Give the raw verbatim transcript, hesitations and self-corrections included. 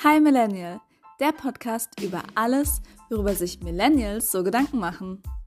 Hi Millennial, der Podcast über alles, worüber sich Millennials so Gedanken machen.